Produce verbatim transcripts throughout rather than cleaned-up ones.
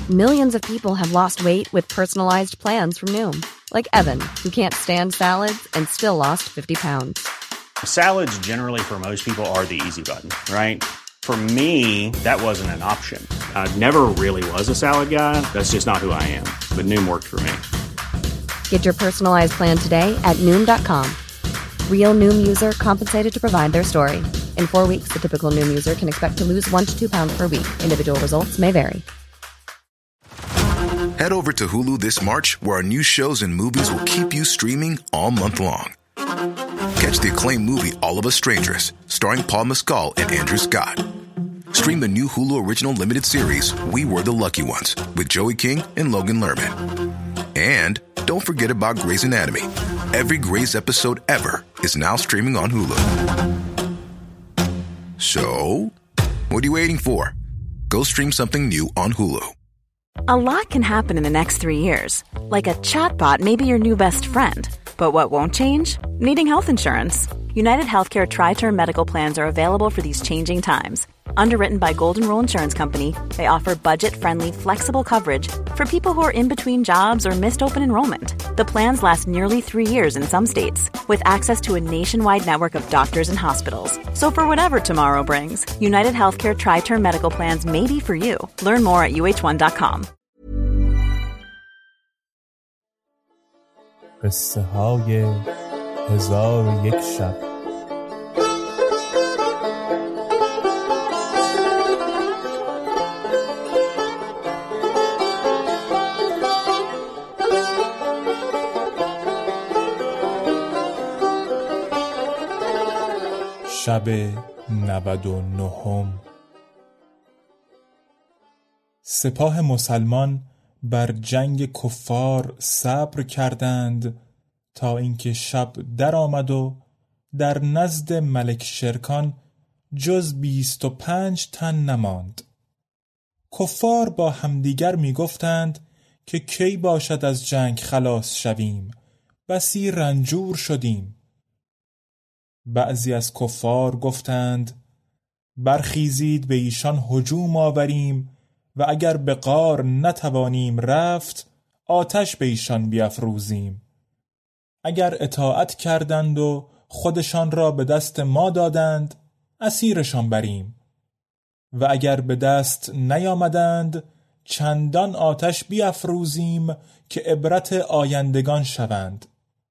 Millions of people have lost weight with personalized plans from Noom. Like Evan, who can't stand salads and still lost fifty pounds. Salads generally for most people are the easy button, right? For me, that wasn't an option. I never really was a salad guy. That's just not who I am. But Noom worked for me. Get your personalized plan today at Noom dot com. Real Noom user compensated to provide their story. In four weeks, the typical Noom user can expect to lose one to two pounds per week. Individual results may vary. Head over to Hulu this March, where our new shows and movies will keep you streaming all month long. Catch the acclaimed movie All of Us Strangers, starring Paul Mescal and Andrew Scott. Stream the new Hulu original limited series We Were the Lucky Ones with Joey King and Logan Lerman. And don't forget about Grey's Anatomy. Every Grey's episode ever is now streaming on Hulu. So, what are you waiting for? Go stream something new on Hulu. A lot can happen in the next three years. Like a chatbot may be your new best friend. But what won't change? Needing health insurance. United Healthcare Tri-Term Medical Plans are available for these changing times. Underwritten by Golden Rule Insurance Company, they offer budget-friendly, flexible coverage for people who are in between jobs or missed open enrollment. The plans last nearly three years in some states, with access to a nationwide network of doctors and hospitals. So for whatever tomorrow brings, United Healthcare Tri-Term Medical Plans may be for you. Learn more at U H one dot com. قصه های هزار و یک شب. شب نود و نهم. سپاه مسلمان بر جنگ کفار صبر کردند تا اینکه شب در آمد و در نزد ملک شرکان جز بیست و پنج تن نماند. کفار با همدیگر می گفتند که کی باشد از جنگ خلاص شویم، بسی رنجور شدیم. بعضی از کفار گفتند برخیزید به ایشان هجوم آوریم و اگر به غار نتوانیم رفت آتش به ایشان بیفروزیم. اگر اطاعت کردند و خودشان را به دست ما دادند اسیرشان بریم و اگر به دست نیامدند چندان آتش بیفروزیم که عبرت آیندگان شوند.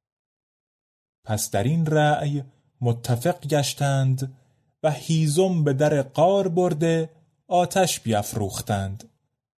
پس در این رأی متفق گشتند و هیزم به در غار برده آتش بیفروختند.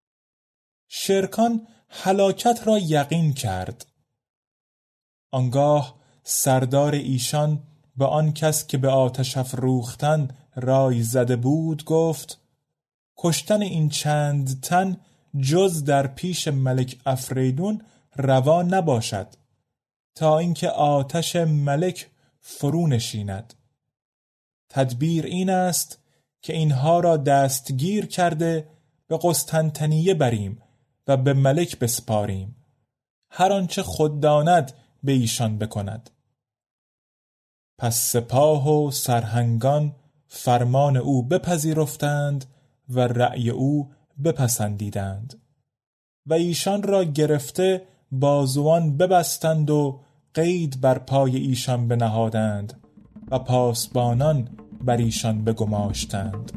شرکان هلاکت را یقین کرد. آنگاه سردار ایشان به آن کس که به آتش افروختن رای زده بود گفت کشتن این چند تن جز در پیش ملک افریدون روا نباشد تا اینکه آتش ملک فرو نشیند. تدبیر این است که اینها را دستگیر کرده به قسطنطنیه بریم و به ملک بسپاریم، هر آنچه خود داند به ایشان بکند. پس سپاه و سرهنگان فرمان او بپذیرفتند و رأی او بپسندیدند و ایشان را گرفته بازوان ببستند و قید بر پای ایشان بنهادند و پاسبانان بر ایشان بگماشتند.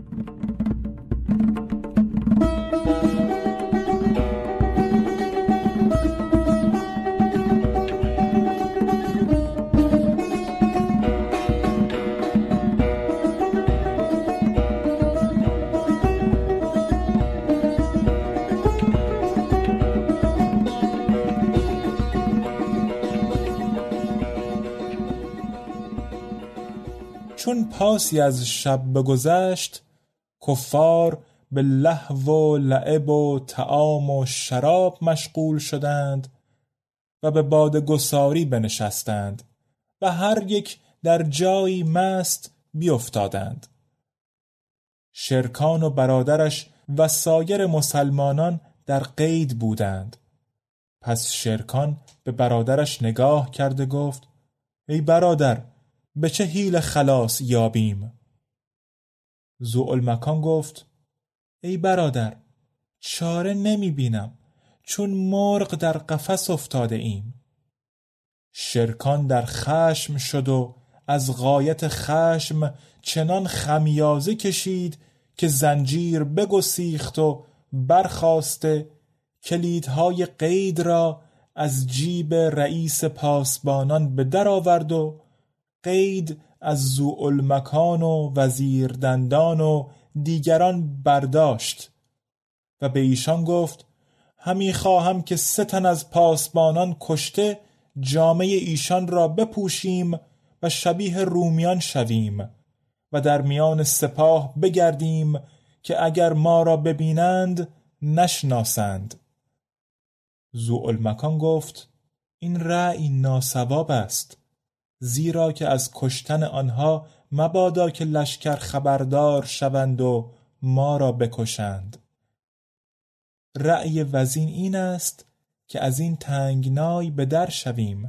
چون پاسی از شب بگذشت کفار به لهو و لعب و طعام و شراب مشغول شدند و به باده گساری بنشستند و هر یک در جایی مست بیفتادند. شرکان و برادرش و سایر مسلمانان در قید بودند. پس شرکان به برادرش نگاه کرده گفت ای برادر، به چه حیله خلاص یابیم؟ ذوالمکان گفت ای برادر، چاره نمی بینم، چون مرغ در قفس افتاده ایم. شرکان در خشم شد و از غایت خشم چنان خمیازه کشید که زنجیر بگسیخت و برخاسته کلیدهای قید را از جیب رئیس پاسبانان به در آورد و قید از ذوالمکان و وزیر دندان و دیگران برداشت و به ایشان گفت همی خواهم که سه تن از پاسبانان کشته جامه ایشان را بپوشیم و شبیه رومیان شویم و در میان سپاه بگردیم که اگر ما را ببینند نشناسند. ذوالمکان گفت این رأی ناصواب است، زیرا که از کشتن آنها مبادا که لشکر خبردار شوند و ما را بکشند. رأی وزین این است که از این تنگنای به در شویم.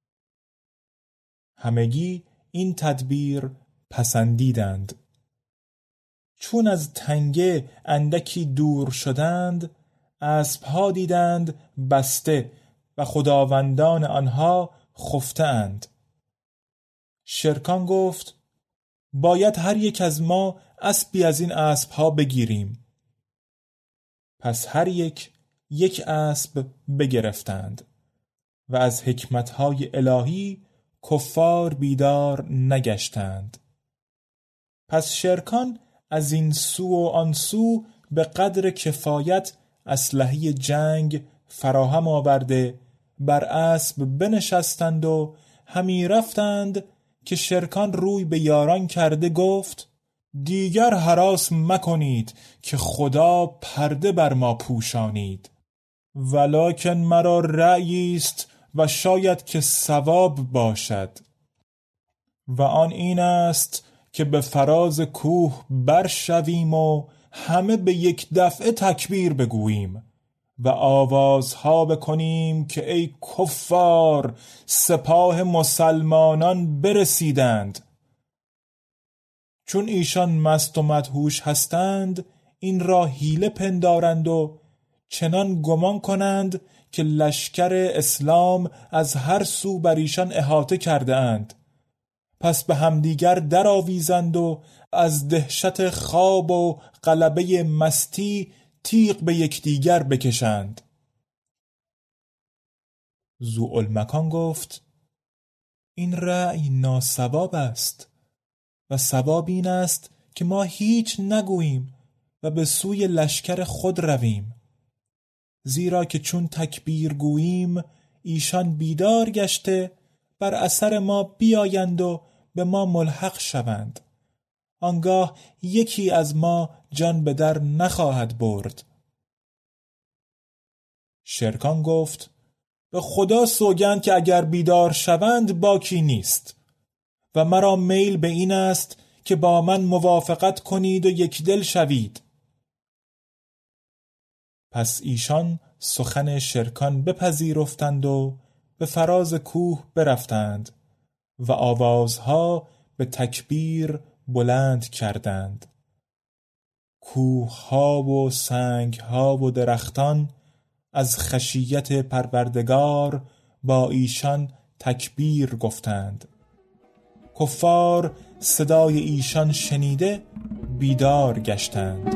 همگی این تدبیر پسندیدند. چون از تنگه اندکی دور شدند، اسبها دیدند بسته و خداوندان آنها خفته اند. شرکان گفت باید هر یک از ما اسبی از این اسبها بگیریم. پس هر یک یک اسب بگرفتند و از حکمتهای الهی کفار بیدار نگشتند. پس شرکان از این سو و آن سو به قدر کفایت اسلحه جنگ فراهم آورده بر اسب بنشستند و همی رفتند که شرکان روی به یاران کرده گفت دیگر هراس مکنید که خدا پرده بر ما پوشانید، ولکن مرا رأیی است و شاید که صواب باشد و آن این است که به فراز کوه برشویم و همه به یک دفعه تکبیر بگوییم و آوازها بکنیم که ای کفار سپاه مسلمانان برسیدند. چون ایشان مست و مدهوش هستند این را حیله پندارند و چنان گمان کنند که لشکر اسلام از هر سو بر ایشان احاطه کرده اند. پس به همدیگر در آویزند و از دهشت خواب و غلبه مستی تیغ به یکدیگر بکشند. ذوالمکان گفت این رأی ناصواب است و صواب این است که ما هیچ نگوییم و به سوی لشکر خود رویم، زیرا که چون تکبیر گوییم ایشان بیدار گشته بر اثر ما بیایند و به ما ملحق شوند. آنگاه یکی از ما جان به در نخواهد برد. شرکان گفت به خدا سوگند که اگر بیدار شوند باکی نیست و مرا میل به این است که با من موافقت کنید و یک دل شوید. پس ایشان سخن شرکان بپذیرفتند و به فراز کوه برفتند و آوازها به تکبیر بلند کردند. کوه‌ها و سنگ‌ها و درختان از خشیت پروردگار با ایشان تکبیر گفتند. کفار صدای ایشان شنیده بیدار گشتند.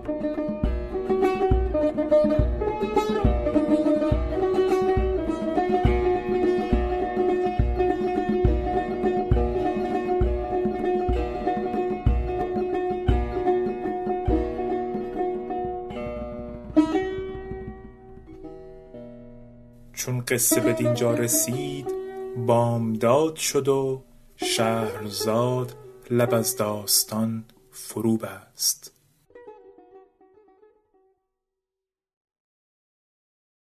چون قصه به دینجا رسید بامداد شد و شهرزاد لب از داستان فرو بست.